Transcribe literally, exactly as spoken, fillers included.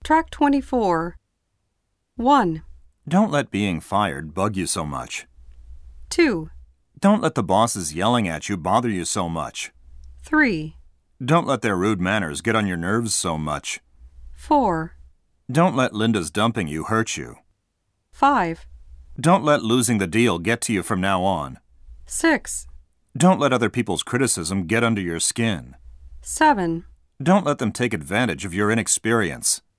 Track twenty-four. one. Don't let being fired bug you so much. two. Don't let the bosses yelling at you bother you so much. three. Don't let their rude manners get on your nerves so much. four. Don't let Linda's dumping you hurt you. five. Don't let losing the deal get to you from now on. six. Don't let other people's criticism get under your skin. seven. Don't let them take advantage of your inexperience.